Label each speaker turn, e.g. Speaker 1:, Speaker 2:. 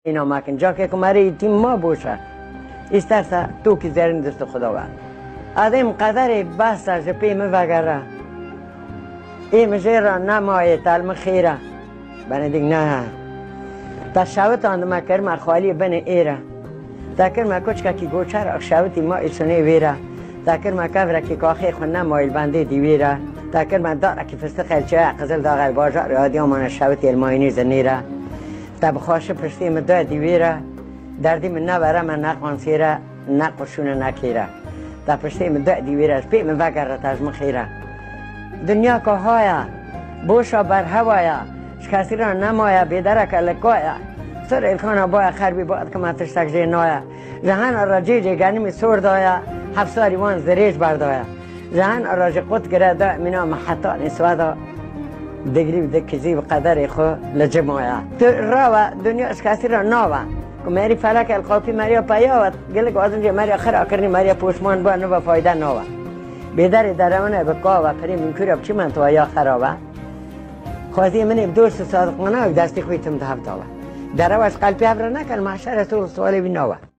Speaker 1: اینا مکن جا که کماری تیم ما بوشه استرسه تو که زرین دست خداوند آدم قدر بحث جپیم وگره ایم جیرا نمایه تلم خیره بنا دیگ نه تا شوت آندم کرم خالی بن ایره تا کرم کچ که گوچر اخشوتی ما ایسونه ویره تا کرم کفره که کاخی خون نمایل بنده دیویره تا کرم داره که فستق الچه قزل داغی باجار آدیا من شوتی الماینی زنیره تا بخواش پرستی من دو دیویره دردی من نبره من نقوان سیره نقوشونه نکیره تا پرستی من دو دیویره از پی من وگره تاز مخیره دنیا که هایا بوشا بر هوایا شکسی را نمایا بیدرک لکایا سر الکانا بایا خربی باید که من تشتک جینایا جهان را جیجی گنیمی سور دایا حفصاری وان زریج بردایا جهان را جی قد گره دا مینا محطا نسوا دا دگری دکیزی و قدر خو لجمایا راوا دنیا شکسی را ناوا که میری فلک القاپی مریا پیاوت گلک آزم جی مریا خرا کرنی مریا پوشمان با نو فایده ناوا بیداری درمانه بکاوه پری منکوری اب چی من تو یا خرابه خواستی منی دوست صادقانه دستی خویتم ده هفتاوه در واش قلبی ابر نکن معشر تو سوالی بیناوه